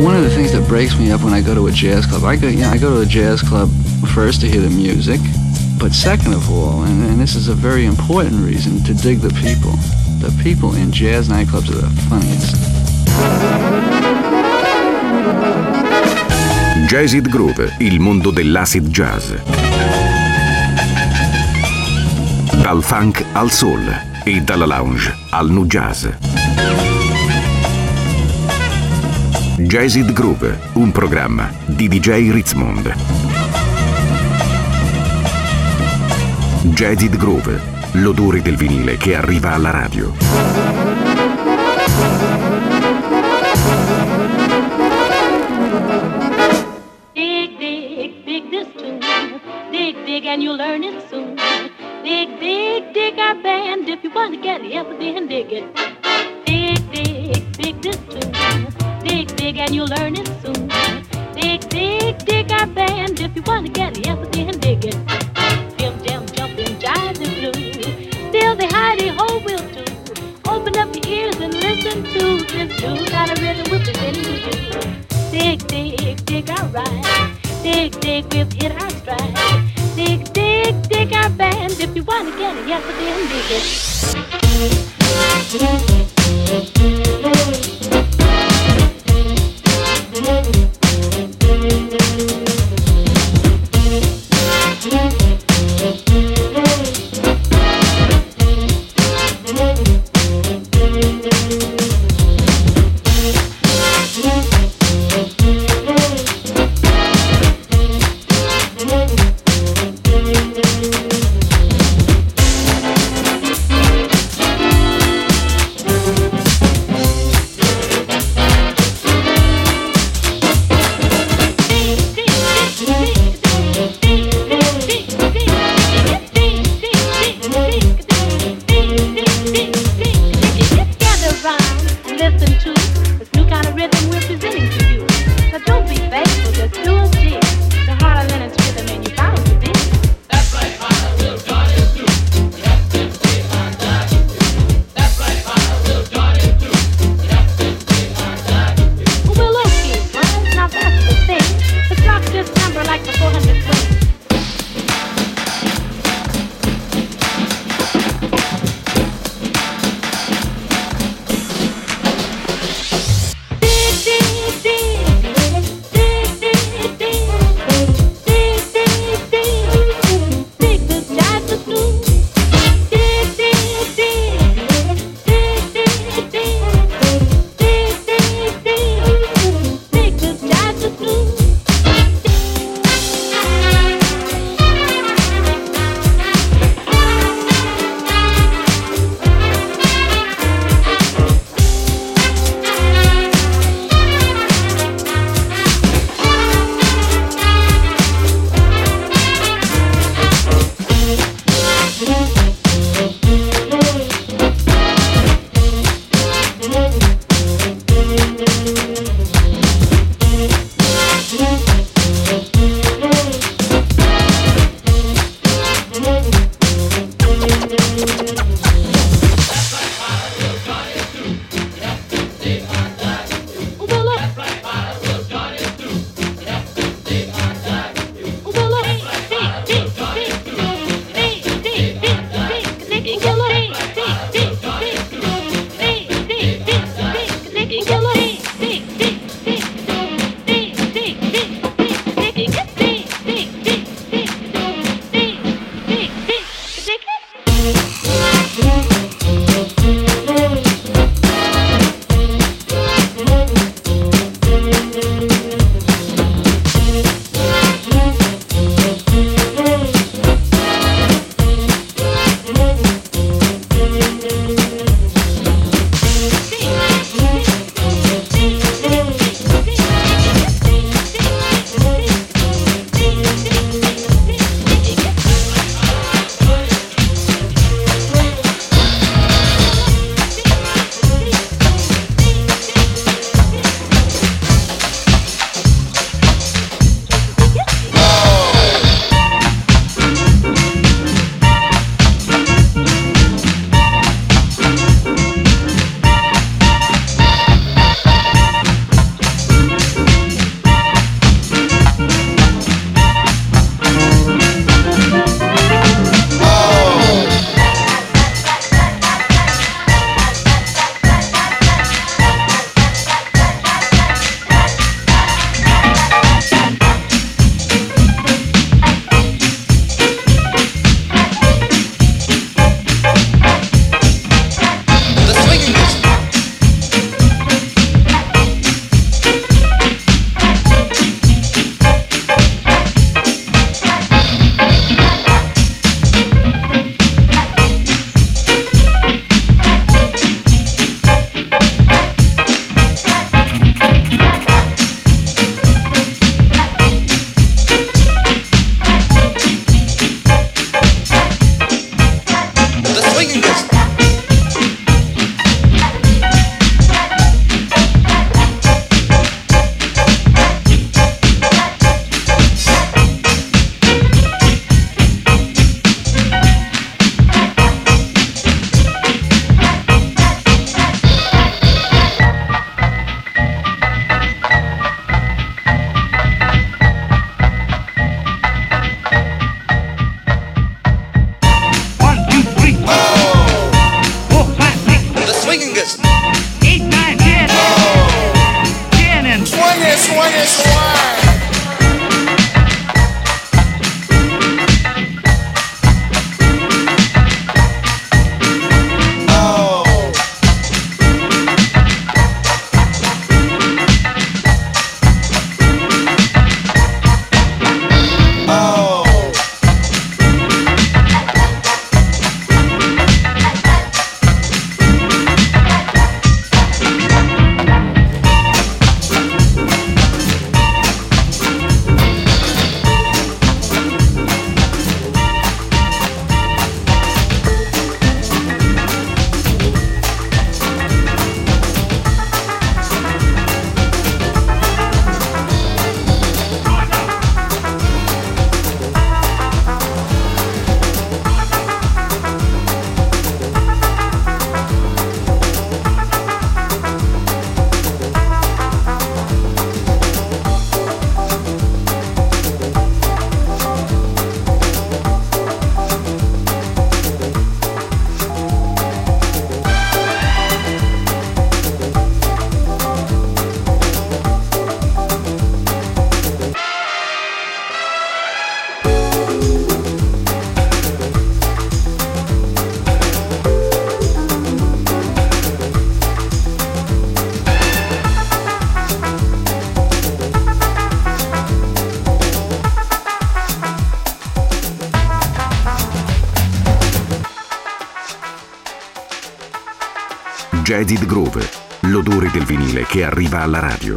One of the things that breaks me up when I go to a jazz club, I go to a jazz club first to hear the music, but second of all, and this is a very important reason, to dig the people. The people in jazz nightclubs are the funniest. Jazzid Groove, il mondo dell'acid jazz. Dal funk al soul e dalla lounge al nu jazz. Jazzid Groove, un programma di DJ Ritzmond. Jazzid Groove, l'odore del vinile che arriva alla radio. Dig, dig, dig this tune. Dig, dig, and you'll learn it soon. Dig, dig, dig our band. If you want to get it, then dig it. Dig, dig, dig this tune. Dig, dig, and you'll learn it soon. Dig, dig, dig our band. If you want to get it, then dig it. Jim, jam, jumping, jive and blue. Still the hidey-ho will do. Open up your ears and listen to this new kind of rhythm we're presenting to you. Dig, dig, dig our ride. Dig, dig, we've hit our stride. Dig, dig, dig our band. If you want to get it, then dig it. Dig, Jaded Groove, l'odore del vinile che arriva alla radio.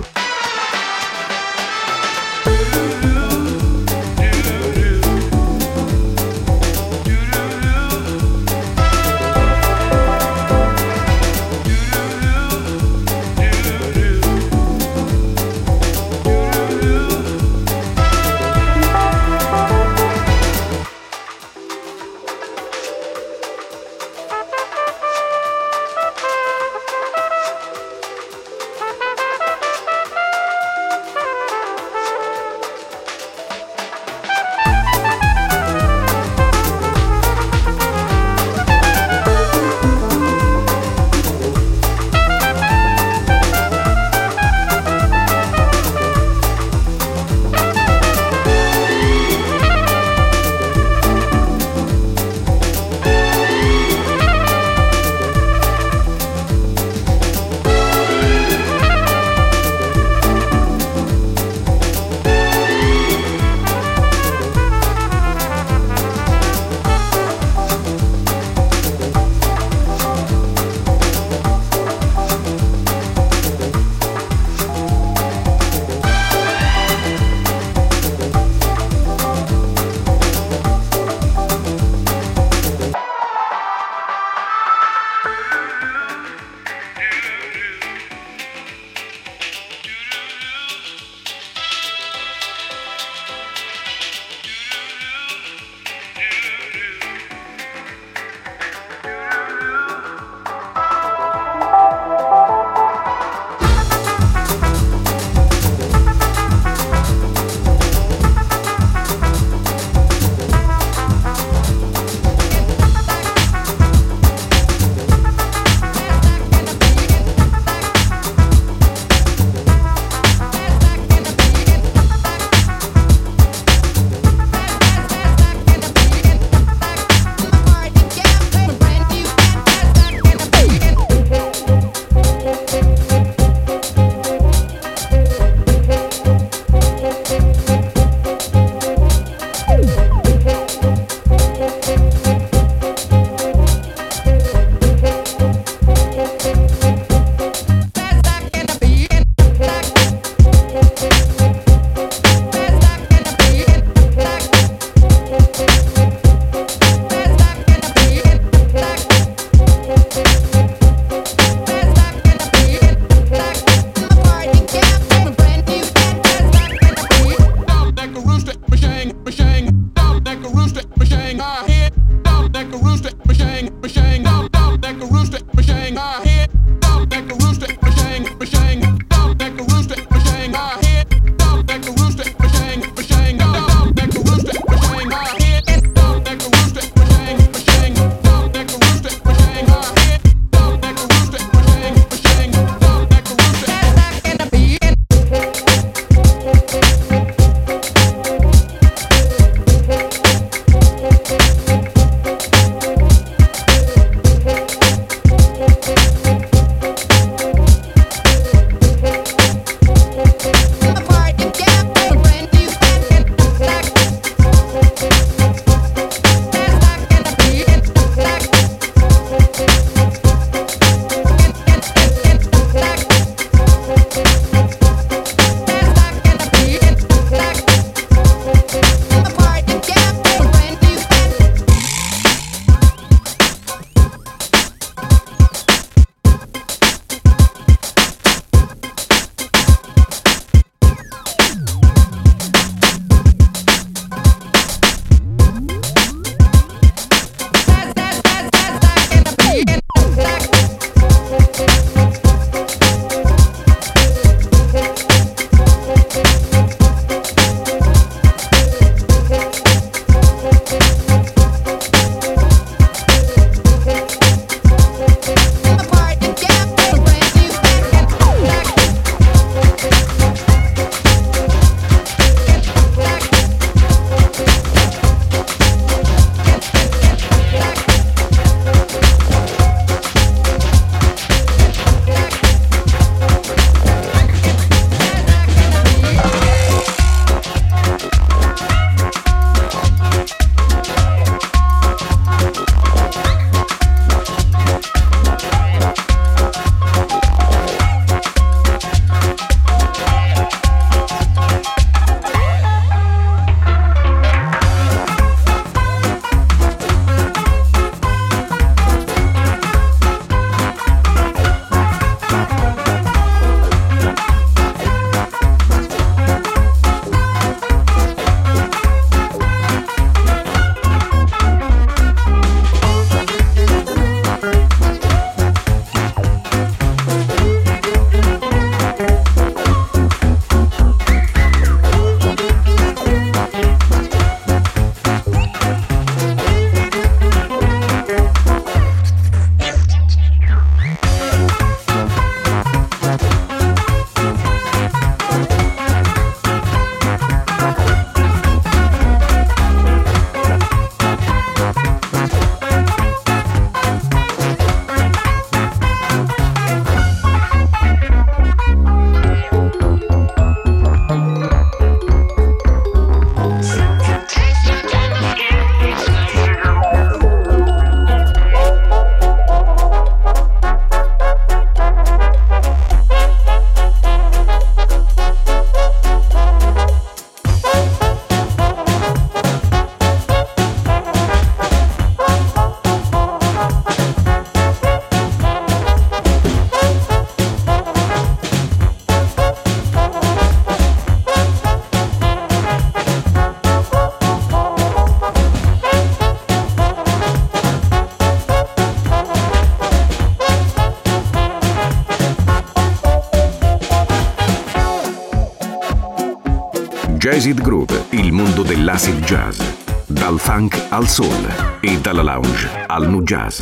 Jazzid Groove, il mondo dell'acid jazz. Dal funk al soul e dalla lounge al nu jazz.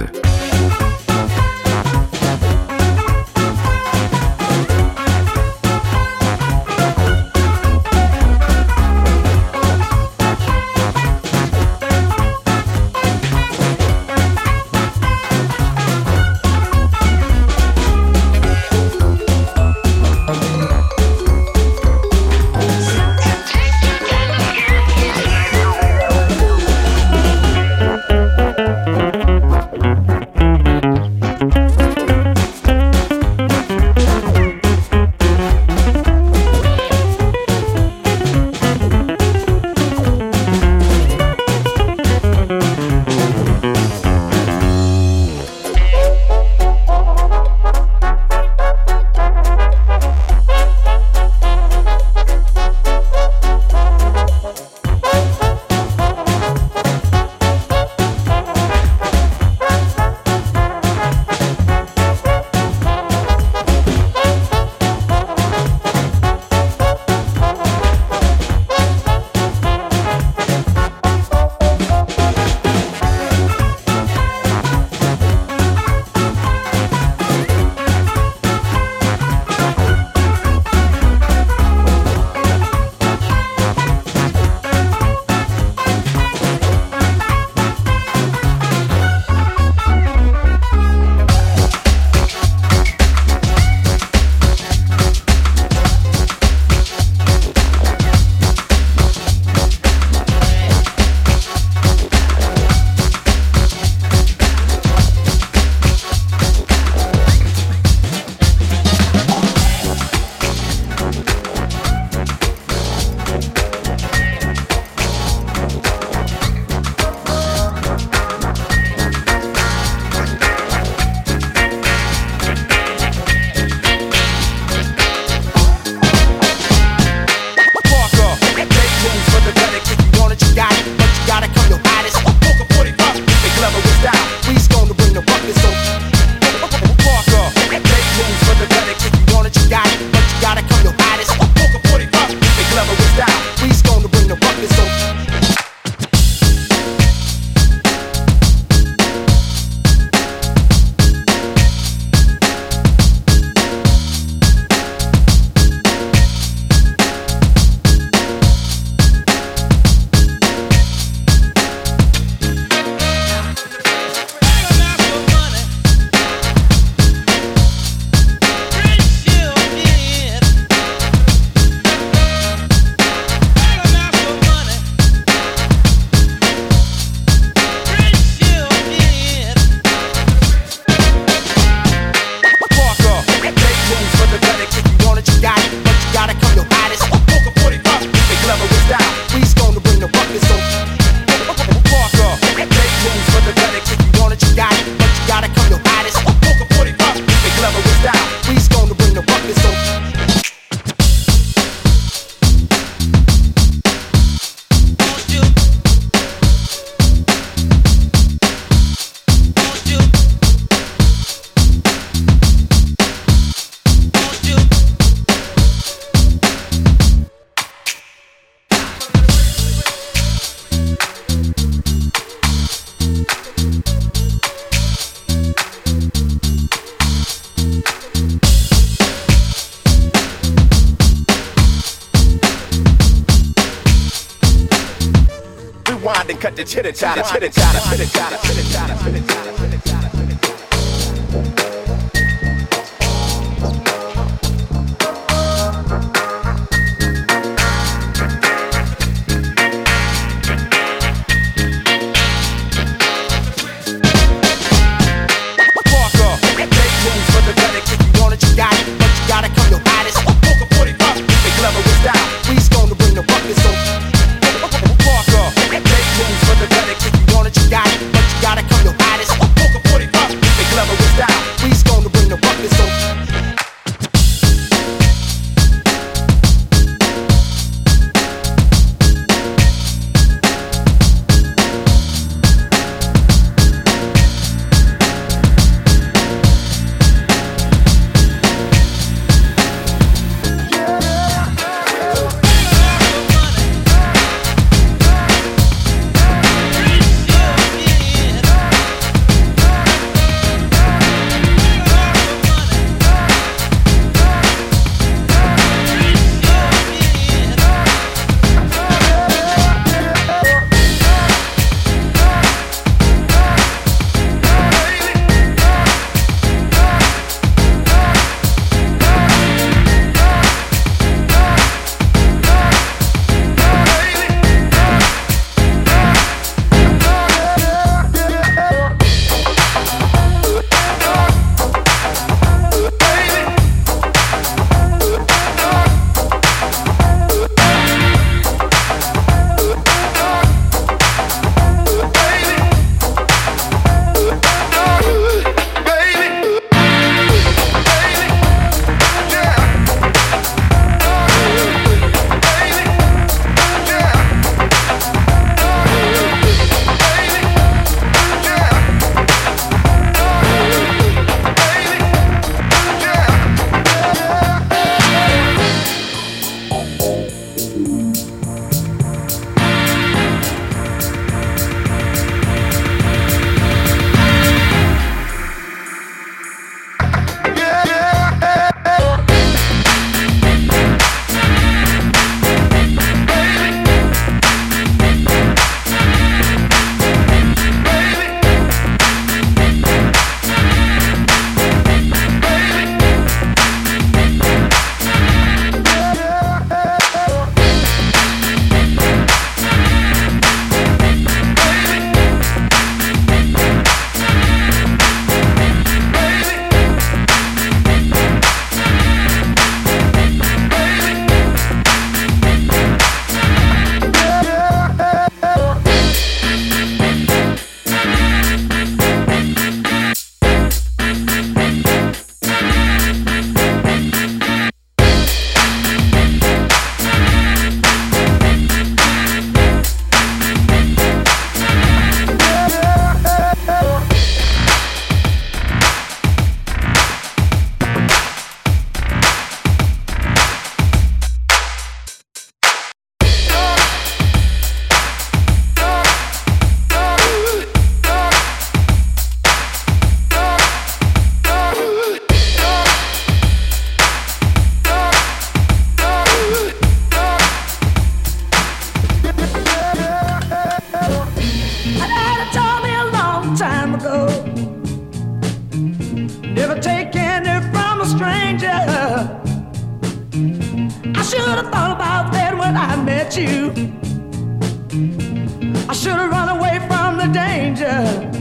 cut the chitter chatter, chitter chatter, chitter chatter, chitter chatter, chitter chatter. Parker, make moves for the medic. If you want it, you got it, but you gotta come your hottest. Poker 45. met you. I should have run away from the danger.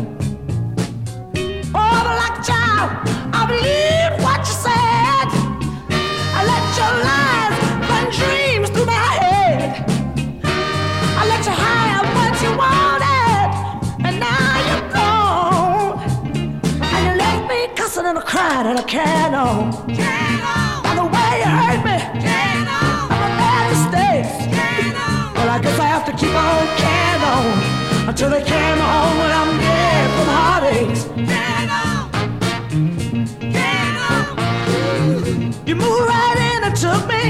Oh, but like a child, I believed what you said. I let your lies run dreams through my head. I let you have what you wanted, and now you're gone. And you left me cussing and crying and I can't on. By the way you hurt me, by my bad mistakes. Well, I guess I have to keep on carrying on until they carry me home when I'm dead from heartaches. You moved right in and took me,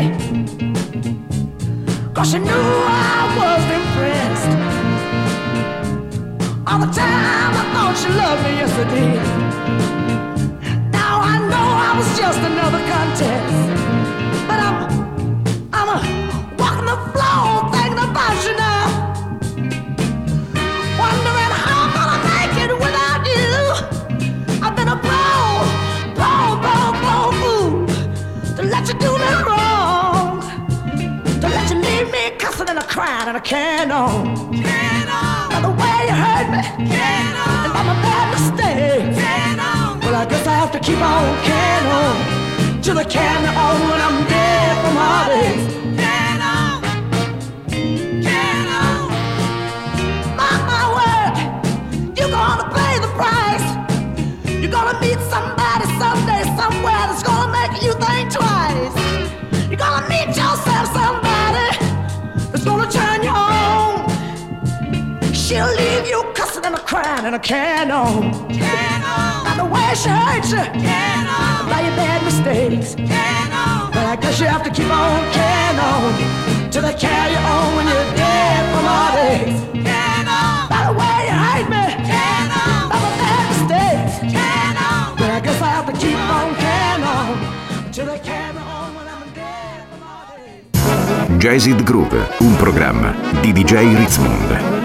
'cause you knew I was impressed. All the time I thought you loved me, yes I did. Now I know I was just another contest, but I'm walking the floor thinking about you now, wondering how I'm gonna make it without you. I've been a fool to let you do me wrong, to let you leave me cussing and crying and I can't on. By the way you hurt me, and by my bad mistakes. Well, I guess I have to keep on carrying on till they carry me on when I'm dead from heartaches. Mark my word, you're gonna pay the price. You're gonna meet somebody someday, somewhere that's gonna make you think twice. You're gonna meet yourself somebody that's gonna turn you on. She'll leave you cussing and crying and I can't on. By the way she hurts you, by your bad mistakes. But I guess you have to keep on carrying on till they carry you on when you're dead from heartaches. By the way you hurt me, by my bad mistakes. But I guess I have to keep on carrying on till they carry me on when I'm dead from heartaches. Jazzed Groove, un programma di DJ Ritzmond.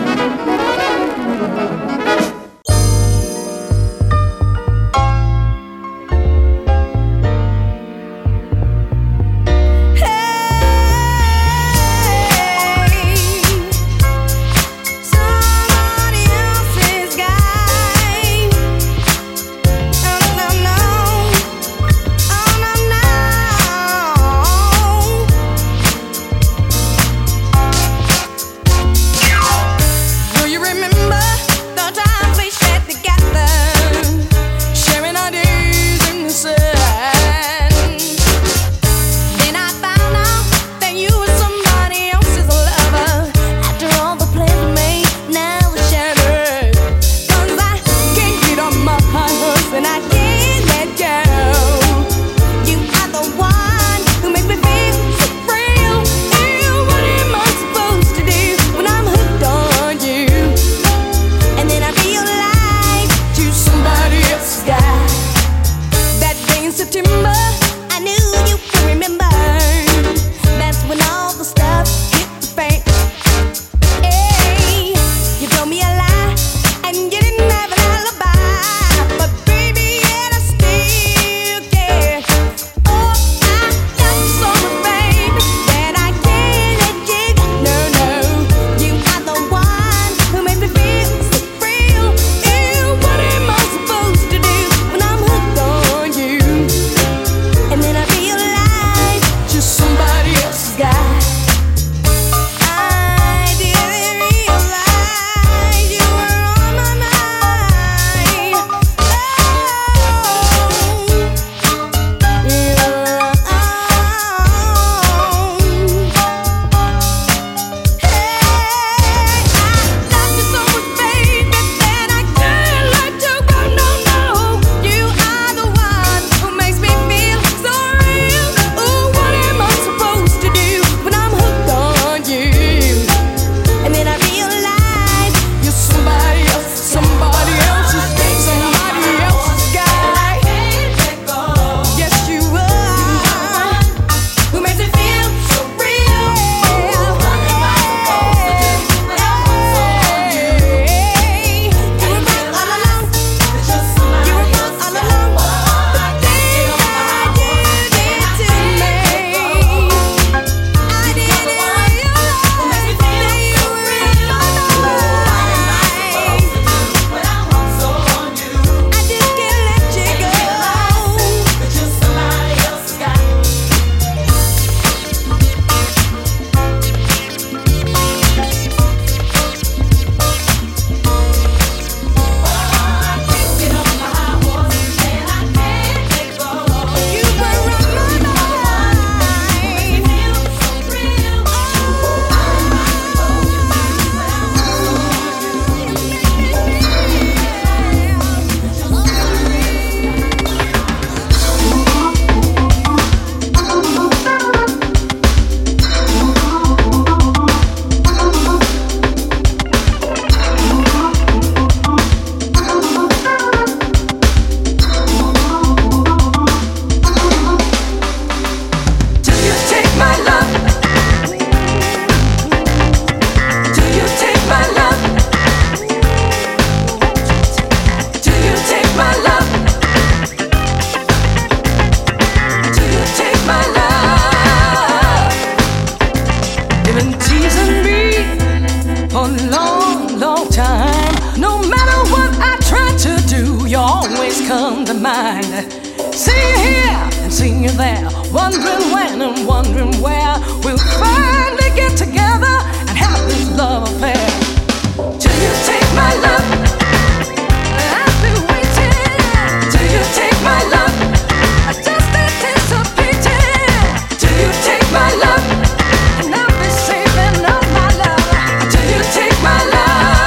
wondering when and wondering where we'll finally get together and have this love affair. Till you take my love, I've been waiting. Till you take my love, I just anticipating. Till you take my love, and I'll be saving all my love. Till you take my love.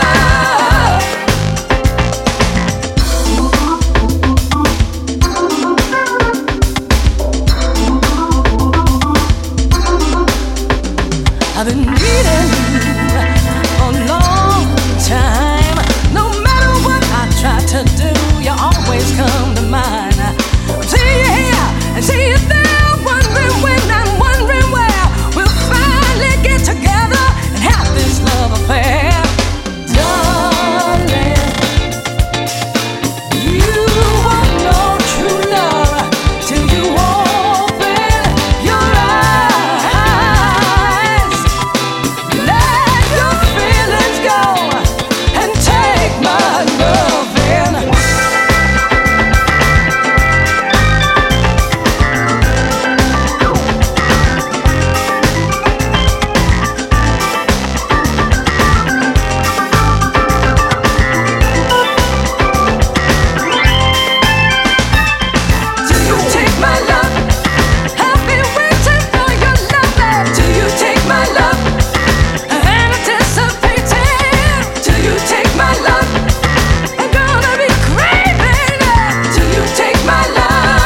I've been needing you for a long time. No matter what I try to do, you always come to mind. See you here and see you there, wondering when I'm wondering where we'll finally get together and have this love affair. Darling, you won't know true love till you open your eyes. Let your feelings go and take my love in. Till you take my love, I've been waiting for your love, babe. Till you take my love, anticipating. Till you take my love, I'm gonna be craving. Till you take my love.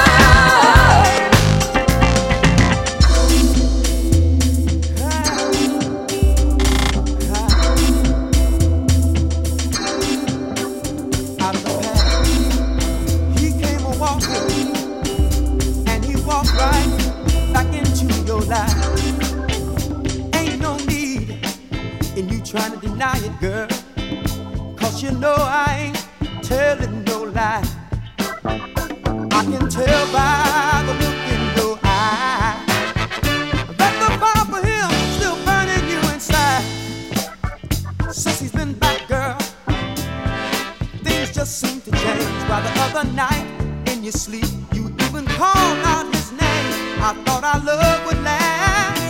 Out of the past, he came a walking, and he walked right back into your life. Ain't no need in you trying to deny it, girl, 'cause you know I ain't telling no lie. I can tell by the look in your eye that the fire for him still burning you inside. Since he's been back, girl, things just seem to change. While the other night in your sleep you even called out his name. I thought our love would last.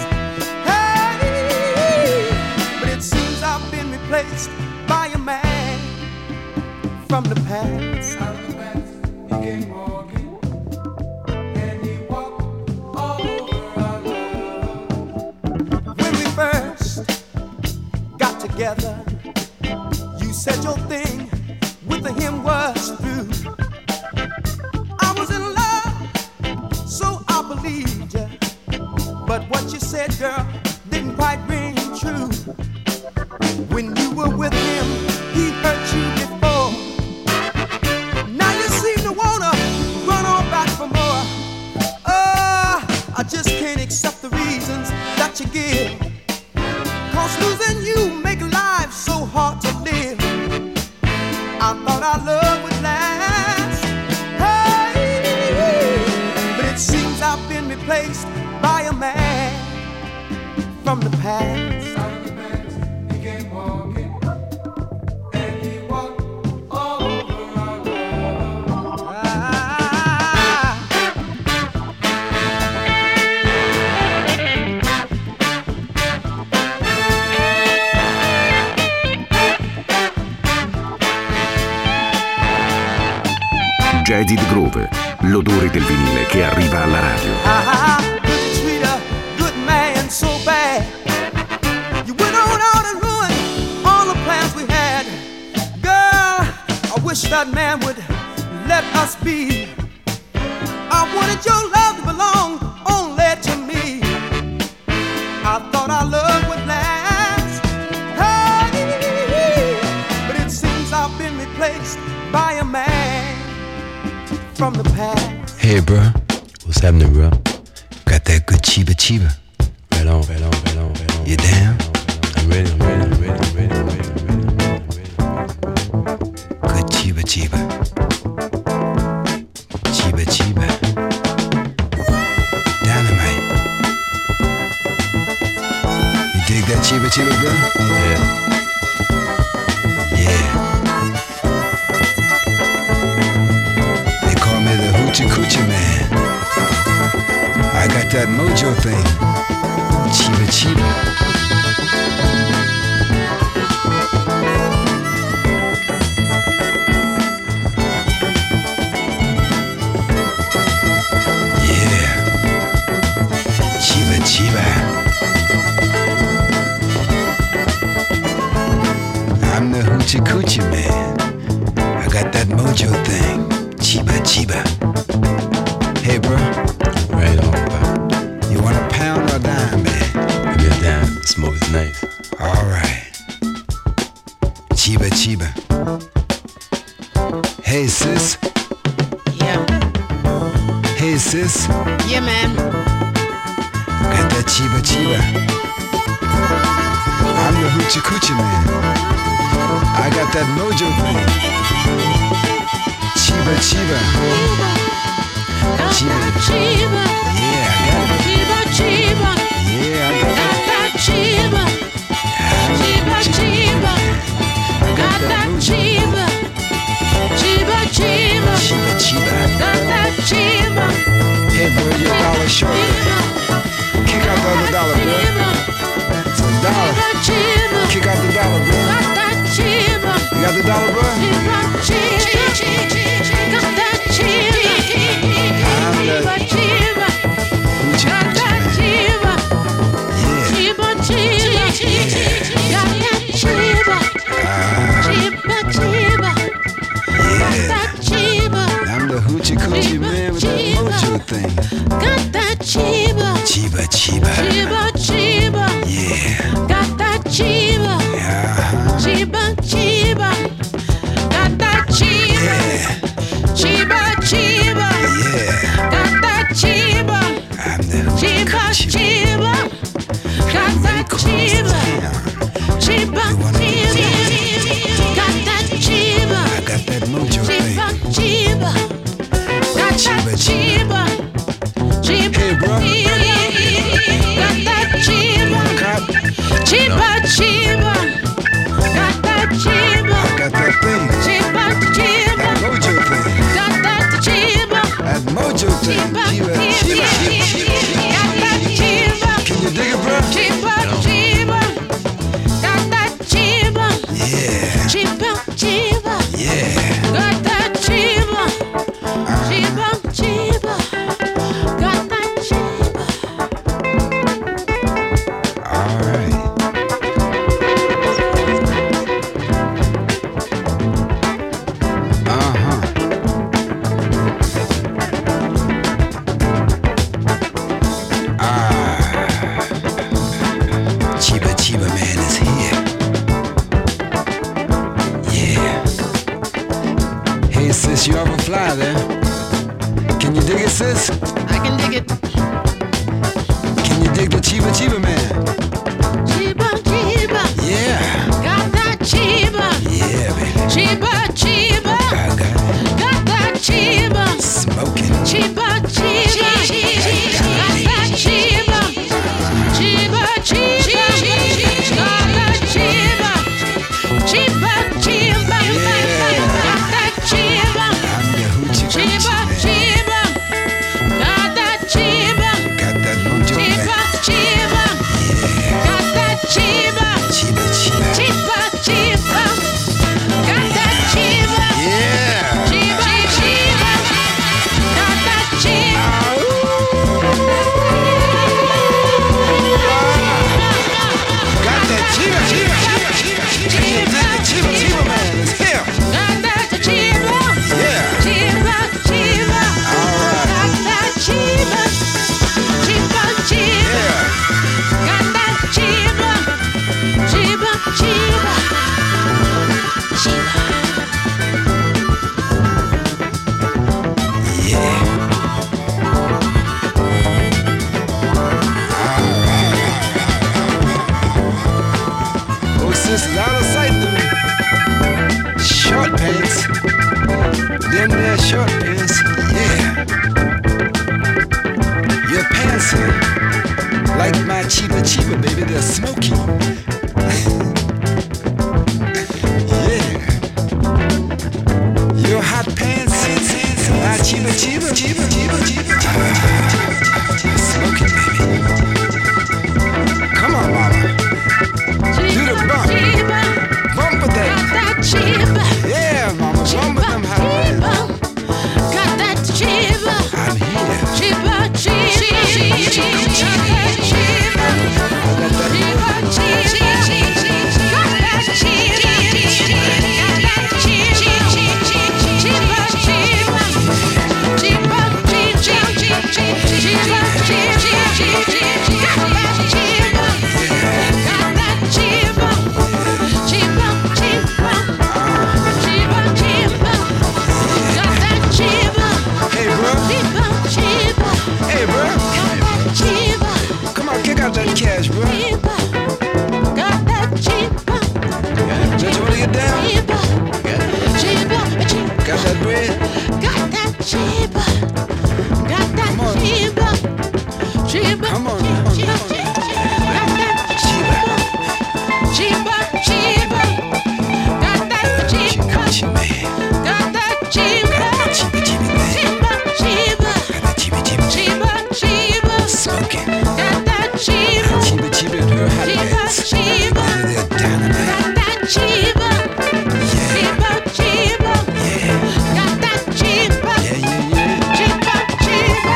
Hey, but it seems I've been replaced by a man from the past. Out of the past, he came walking, and he walked all over our love. When we first got together, you said your thing with him was through. I was in love, so I believed you. But what you said, girl, didn't quite ring true. When you were with him, he hurt you before. Now you seem to wanna run on back for more. I just can't accept the reasons that you give, 'cause losing you make life so hard to live. I thought our love would last. Hey, but it seems I've been replaced by a man from the past. Out of the past, he came walking, and he walked all over our love. Jaded Groove, l'odore del vinile che arriva alla radio. Could you treat a good man so bad? You went on out and ruined all the plans we had. Girl, I wish that man would let us be. I wanted your love to belong only to me. I thought our love would last. Hey, but it seems I've been replaced by a man from the past. Hey, bro, what's happening, bro? Got that good chiba chiba. Right on, right on, right on, right on. You down? I'm ready, I'm ready, I'm ready, I'm ready, I'm ready, I'm ready, I'm ready, I'm ready. Good chiba chiba. Chiba chiba. Dynamite. You dig that chiba chiba, bro? Yeah. Yeah. They call me the Hoochie Coochie Man. I got got that mojo thing. Chiba chiba. Yeah. Chiba chiba. I'm the hoochie coochie man. I got that mojo thing. Chiba chiba. Hey bro. Right on, bro. You want a pound or a dime, man? Give me a dime. The smoke is nice. Alright. Chiba chiba. Hey sis. Yeah. Hey sis. Yeah, man. Got that chiba chiba. I'm the hoochie coochie man. I got that mojo thing. Chiba chiba. Chiba Chiba. Yeah, I got it. Chiba, chiba. Yeah, I got Got it. that chiba. Chiba, chiba. Got that chiba. Chiba, chiba. Chiba chiba. Got that chiba. Hey bro, you're a dollar short. Kick out the other dollar, bro. It's a dollar. Chiba. Kick out the dollar, bro. Got that chiba. You got the dollar, bro? Chiba, chiba. Got that chiba. Chiba, chiba. Hoochie Got that coochie man. chiba. Yeah. Chiba, chiba. Got that chiba. Chiba, chiba. Got that chiba. I'm the hoochie coochie man with that mojo thing. Got that chiba. Chiba chiba. Chiba, chiba. Yeah. Got that chiba. Uh-huh. Chiba, chiba. Got that chiba. Yeah. Chiba, chiba. Yeah. Got that chiba. I'm the hoochie Chiba, coochie man. chiba. Got that chiba. Chiba, chiba. Got that chiba. I got that mojo Chiba, thing. chiba. Got that chiba. Chiba, Hey, bro. got that chiba. Cop, Chiba, chiba. Got that chiba. I got that thing. Chiba, chiba. That mojo thing. Got that chiba. That mojo thing. Chiba, Chiba, chiba, chiba. got that chiba. Can you dig it, bro? Chiba, chiba. Got that chiba. Yeah. Chiba, chiba. Yeah. Got that chiba. Chiba, chiba. Got that chiba. All right. Uh-huh. Chiba Chiba man is here. Yeah. Hey sis, you ever fly there? Can you dig it, sis? I can dig it. Can you dig the Chiba Chiba man? Chiba, chiba. Yeah. Got that chiba. Yeah, baby. Chiba, chiba. I got it. Got that chiba. Smoking. Chiba, chiba. Got that chiba. Chiba, chiba. Got that chiba. Chiba, chiba. Got that chiba. I'm the hoochie Chiba, coochie man. chiba. Got that chiba. Got that mojo Chiba, man. chiba. Got that chiba. Chiba Chiba. Chiba, chiba. Got that chiba. Yeah. Chiba, chiba. Got that chiba. Got that Chiba Chiba. Can you dig the Chiba Chiba man is here? Got that chiba. Yeah. Chiba, chiba. Got that chiba. Chiba, chiba. Yeah. Got that chiba. Chiba, chiba. Chiba. Yeah. Oh, sisters, out of sight to me. Short pants. Them there short pants. Yeah. Your pants are like my Chiba Chiba, baby. They're smoky. Yeah. Your hot pants. My Chiba Chiba. Chiba Chiba. Chiba. Smoky. Come on, come on, come on. Chiba. Chiba, chiba, got that chiba, Chiba. got that chiba, Chiba, chiba, chiba, chiba, got that chiba, chiba. chiba, chiba, Smoking. got that chiba, Chiba, chiba, and her hot chiba, beds. chiba, They're dynamite. got that chiba, chiba, chiba, got that chiba, Yeah, yeah, yeah. chiba, chiba,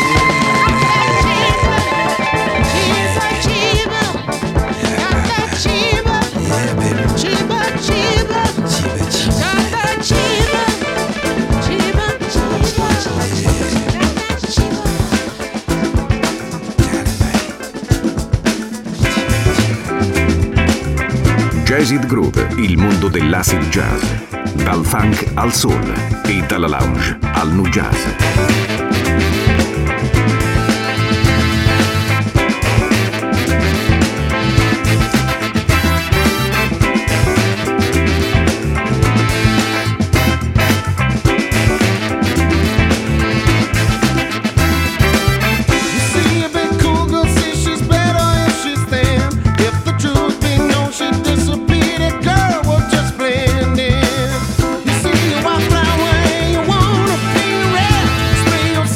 chiba, got that chiba, Yeah, baby. chiba, chiba, Chiba, chiba. got that chiba, chiba, chiba, got that chiba. Jazzid Groove, il mondo dell'acid jazz. Dal funk al soul e dalla lounge al nu jazz. You see a big cool girl, see she's better if she's thin. If the truth be known, she disappeared. That girl will just blend in. You see a wildflower and you wanna be red. Spray your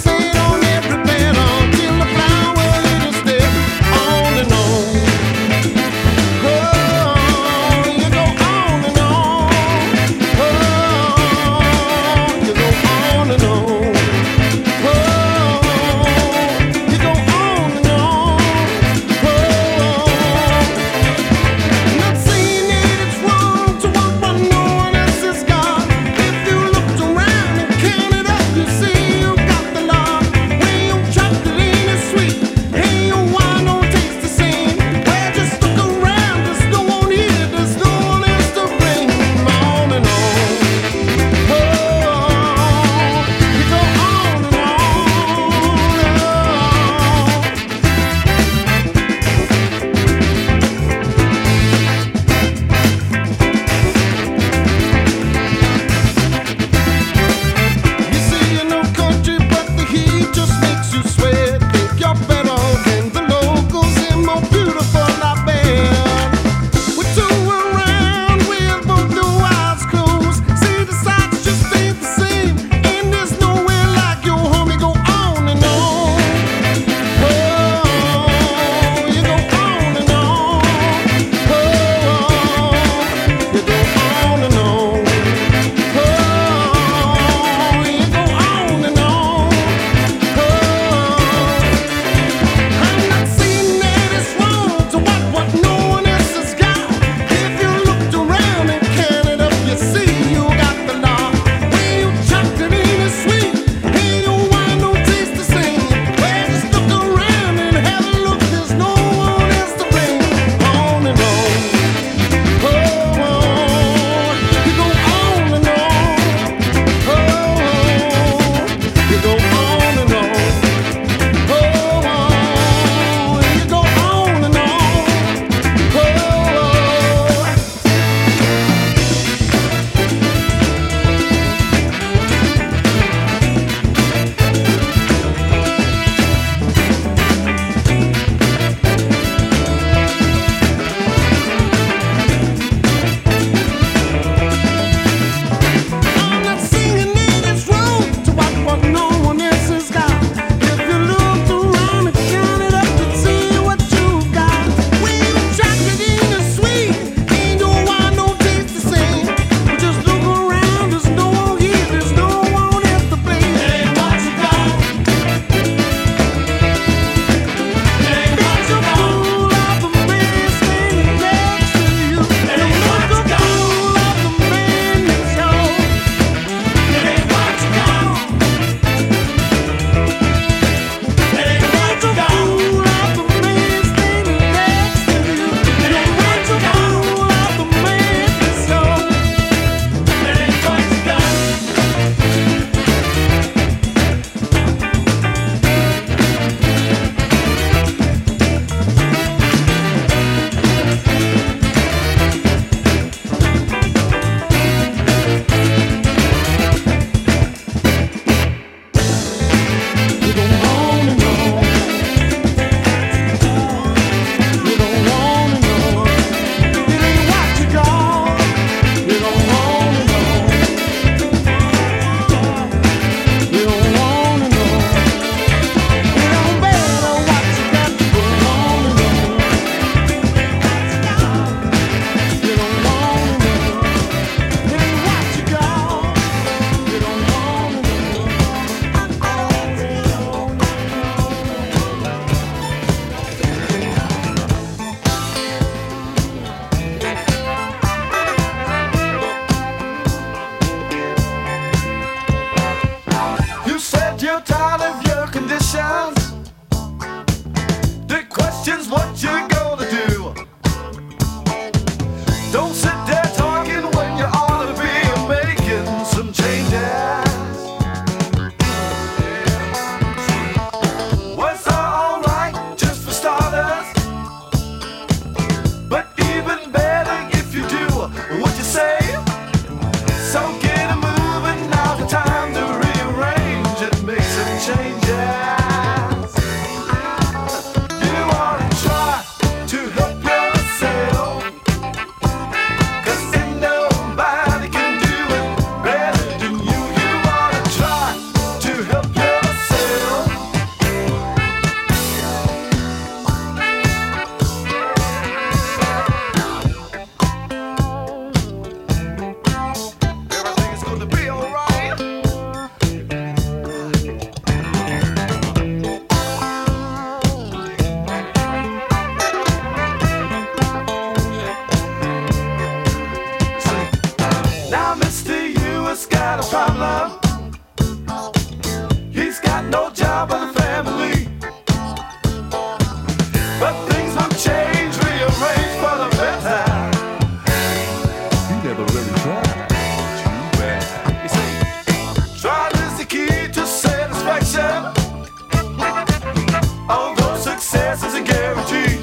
success is a guarantee.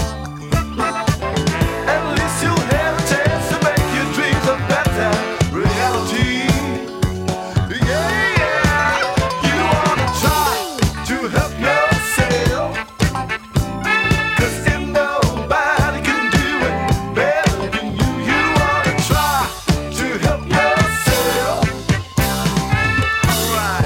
At least you'll have a chance to make your dreams a better reality. Yeah, yeah. You wanna try to help yourself, 'cause if nobody can do it better than you, you wanna try to help yourself. Alright.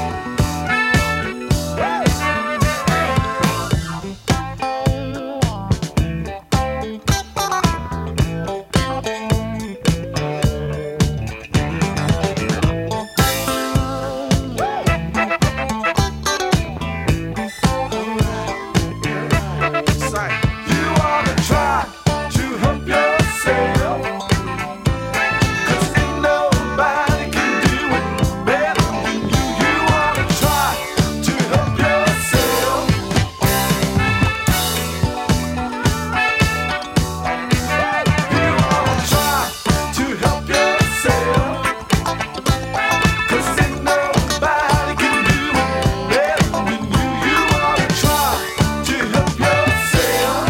You wanna try to help yourself, 'cause if nobody can do it better than you, you wanna try to help yourself. You wanna try to help yourself, 'cause if nobody can do it better than you, you wanna try to help yourself.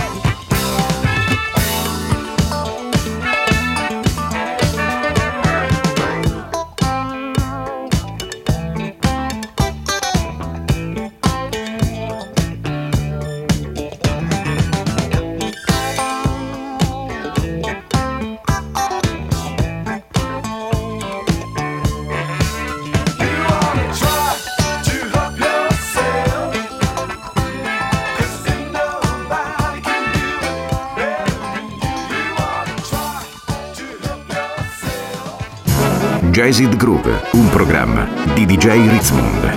You wanna try to help yourself, 'cause if nobody can do it better than you, you wanna try to help yourself. Jazzed Groove, un programma di DJ Ritzmond.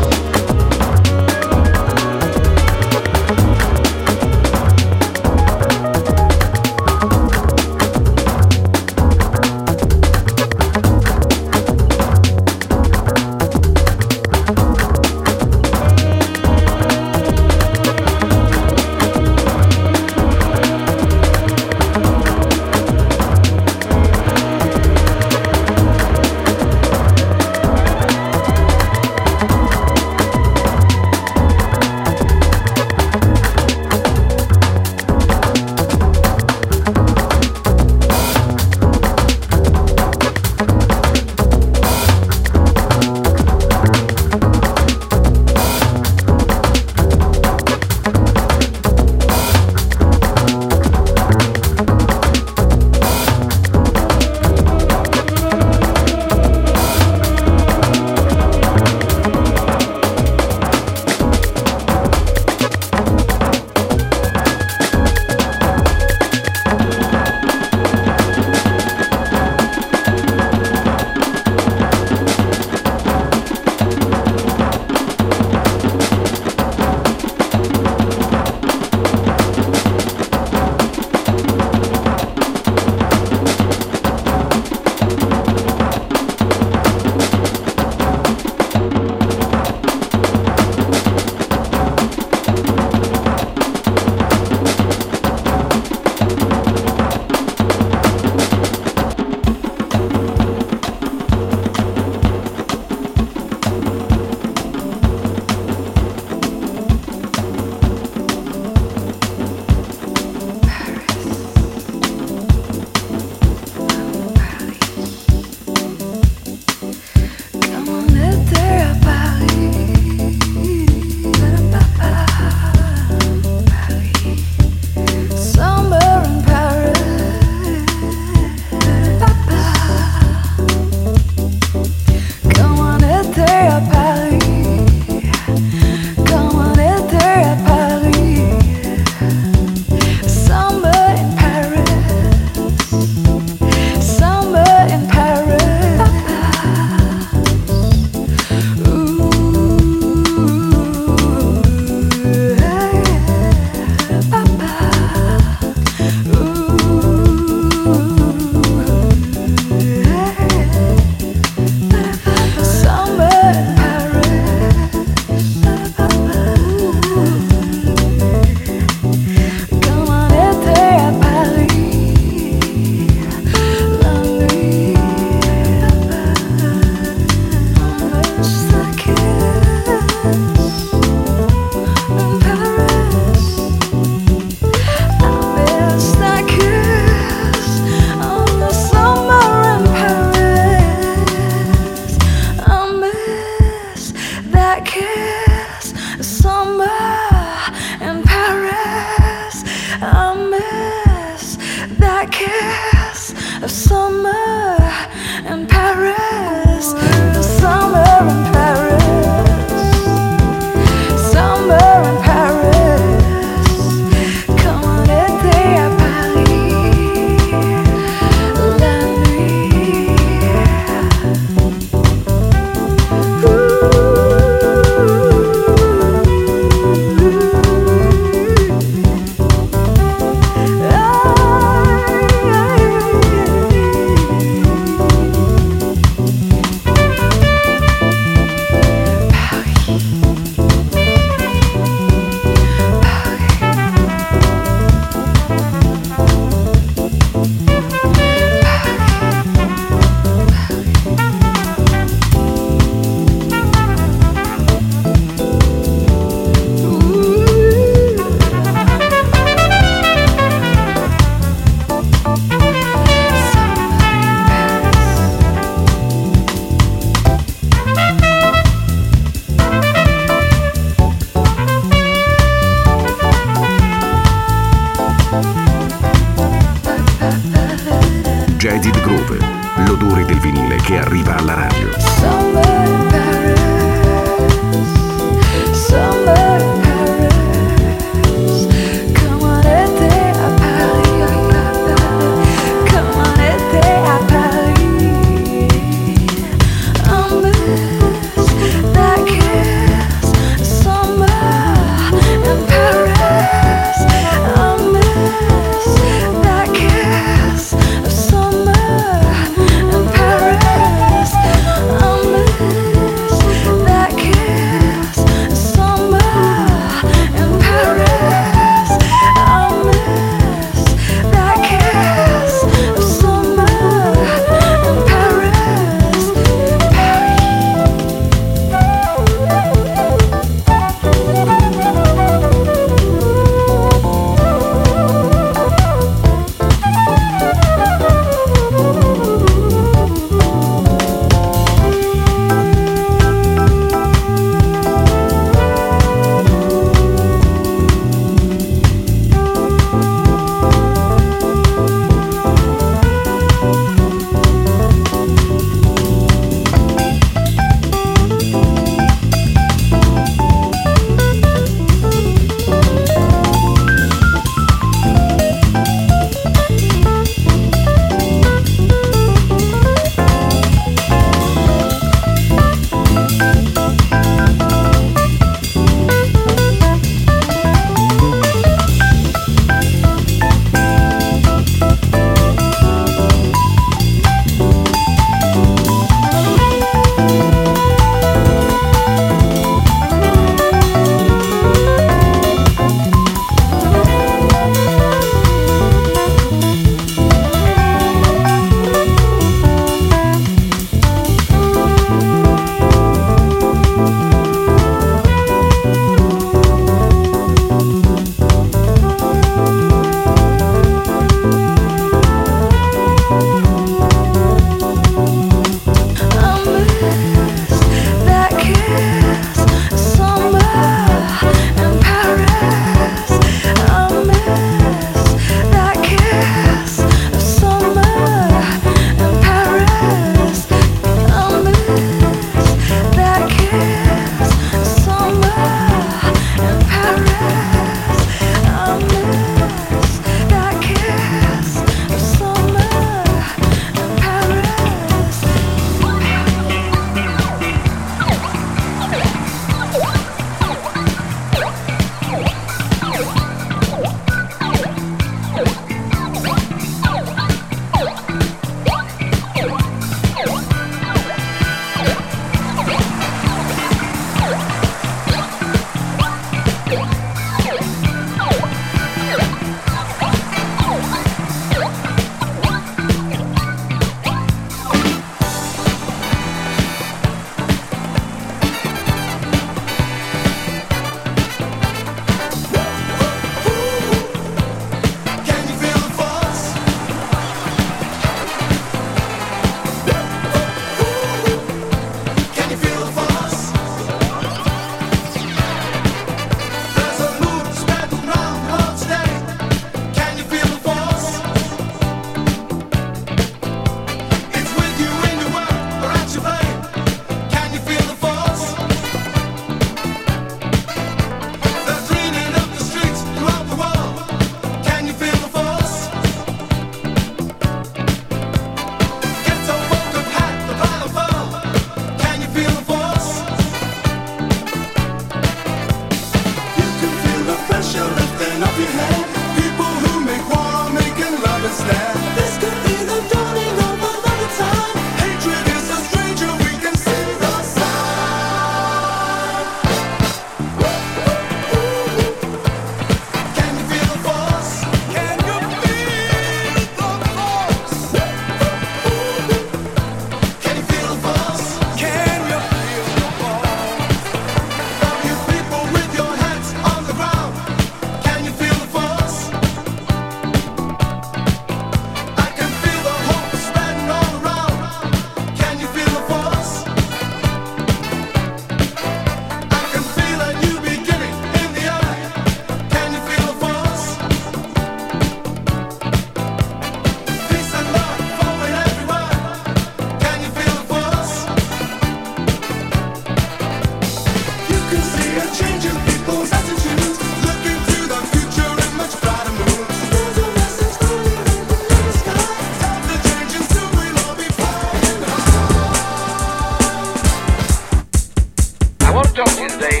want to talk to you today.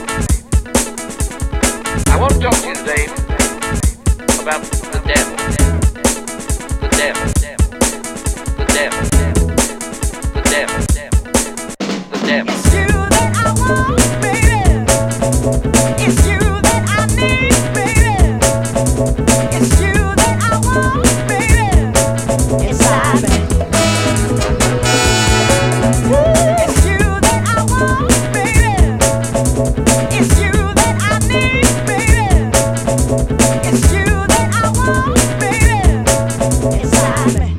I want to talk to you today about the devil. The devil. The devil. The devil. The devil. It's you that I want, baby. It's you that I need, baby. It's you that I want, baby. Inside me. It's you that I want, baby. It's you that I need, baby. It's you that I want, baby. Inside me.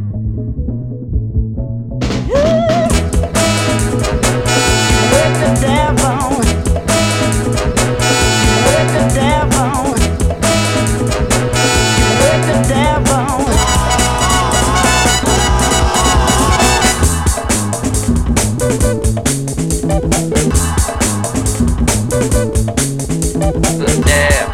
With the devil. With the devil. With the devil. The devil.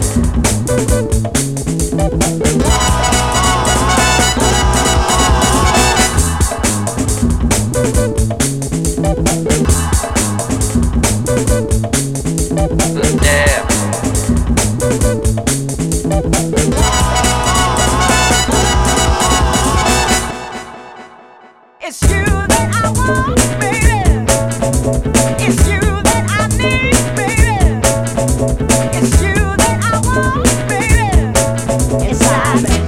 The devil. It's you that I want, baby. It's you that I need, baby. It's you that I want, baby. Inside me.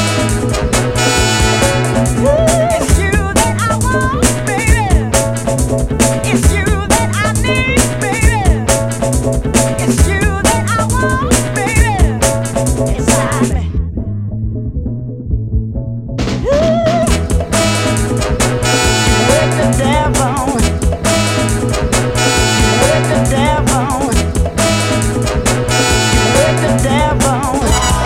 It's you that I want, baby. It's you that I need, baby. It's you that I want, baby. Inside me. With the devil. With the devil. With the devil.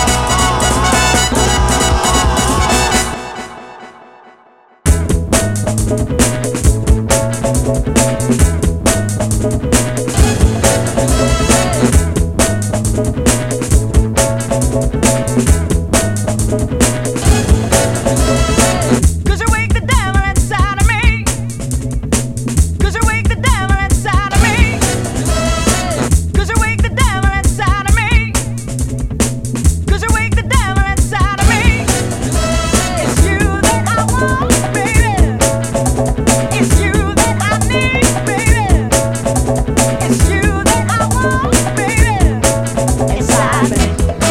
Cause you wake the devil inside of me. Cause you wake the devil inside of me. Cause you wake the devil inside of me. Cause you wake the devil inside of me. It's you that I want, baby. It's you that I need, baby. It's you that I want, baby. Inside me.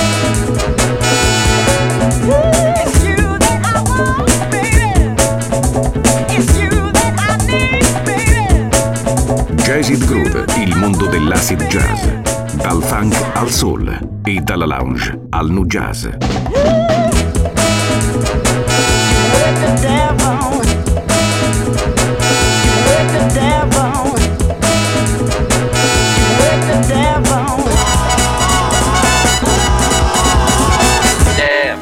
It's you that I want, baby. It's you that I need, baby. Jazzed Groove, il mondo dell'acid jazz. Dal funk al soul e dalla lounge al nu jazz. With the devil. With the devil. With the devil. Devil.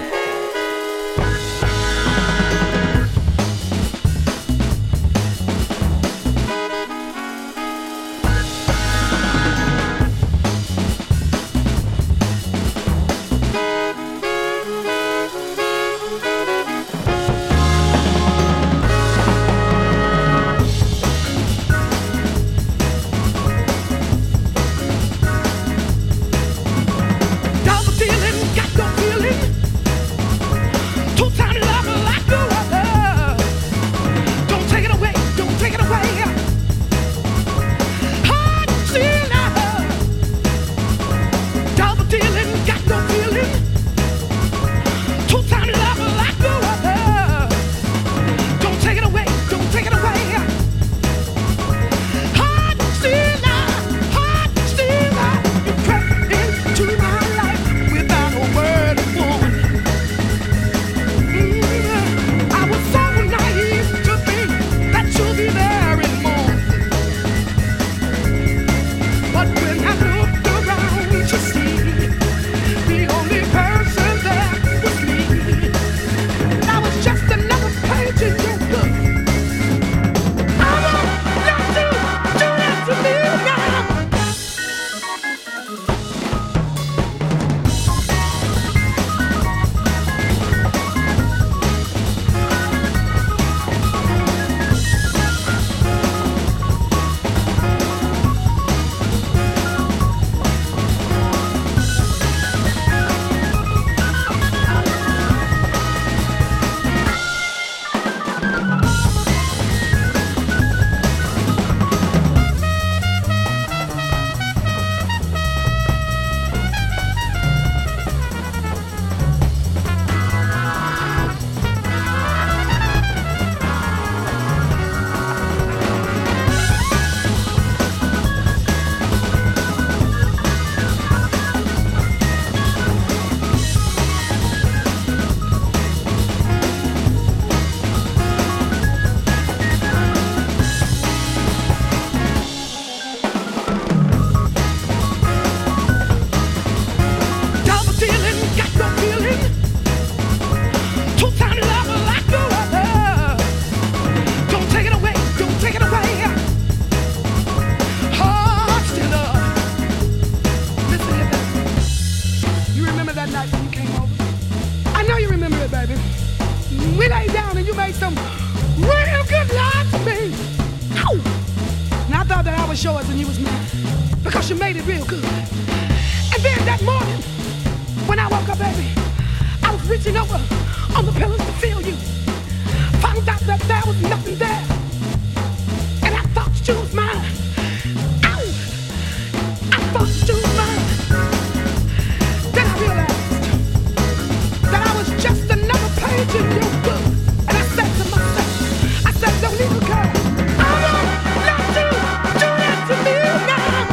was yours and you was mine, because you made it real good. And then that morning, when I woke up, baby, I was reaching over on the pillows to feel you. Found out that there was nothing there, and I thought you was mine. Ow! I thought you was mine. Then I realized that I was just another page in your book, and I said to myself, I said, don't even care. I won't let you do that to me now.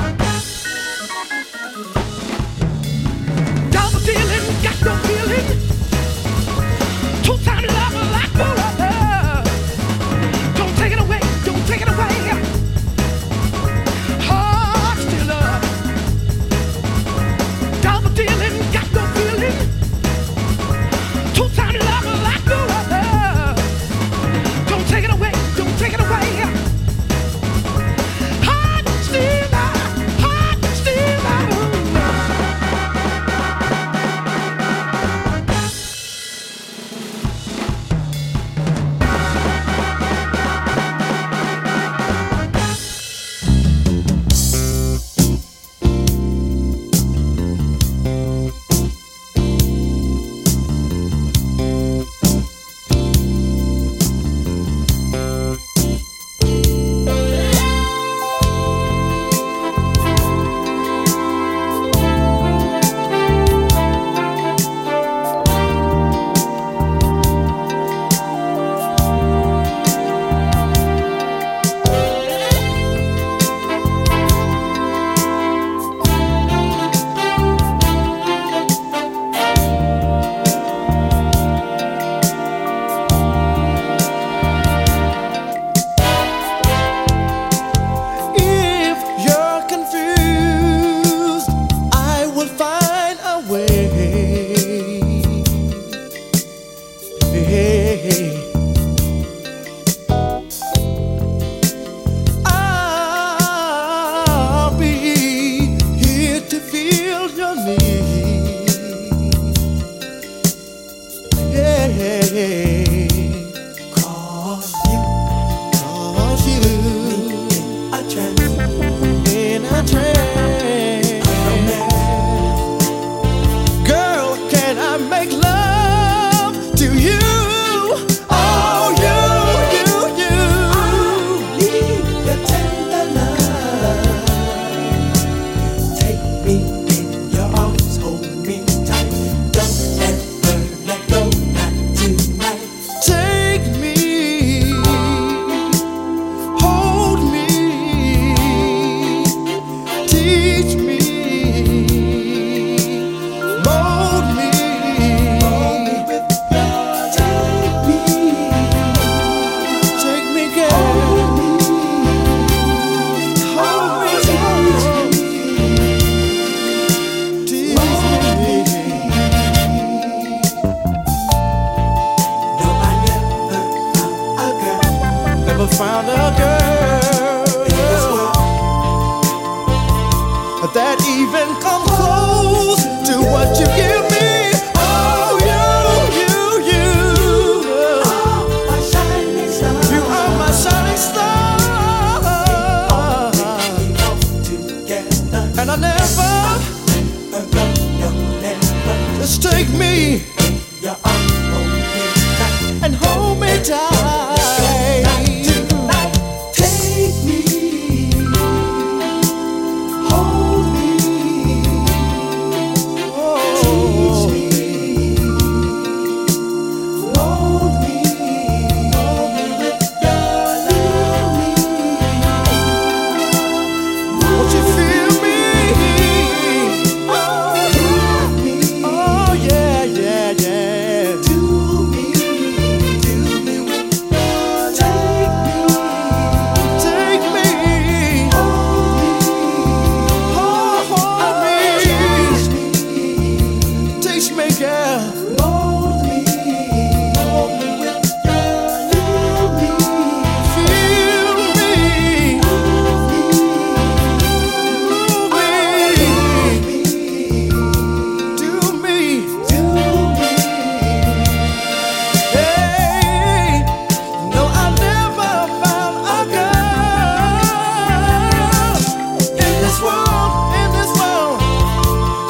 Double dealing, got no feeling. Two-time lover like no other. Don't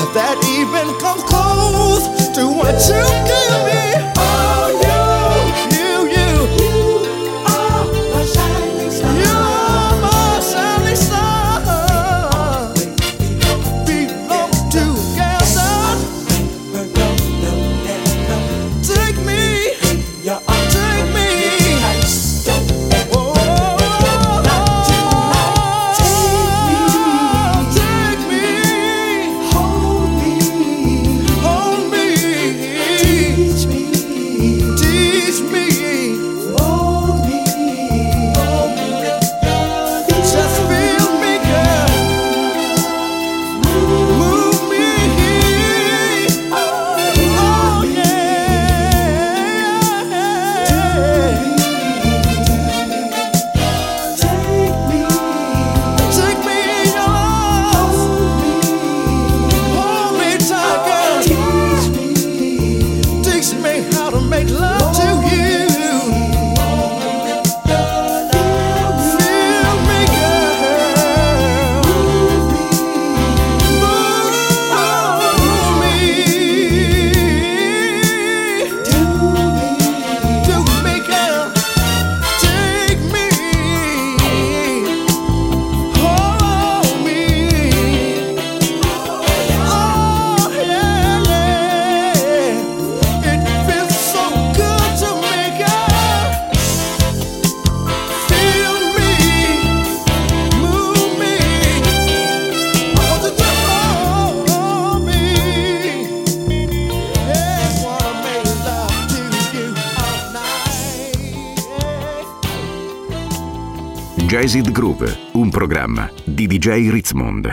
that even comes close to what you give me. Oh, you are my shining star. You are my shining star. Belong together. Take me, take me. Jazz It Groove, un programma di DJ Ritzmond.